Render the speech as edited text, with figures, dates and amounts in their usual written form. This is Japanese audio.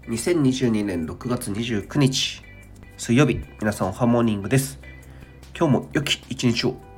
2022年6月29日水曜日、皆さんおはモーニングです。今日も良き一日を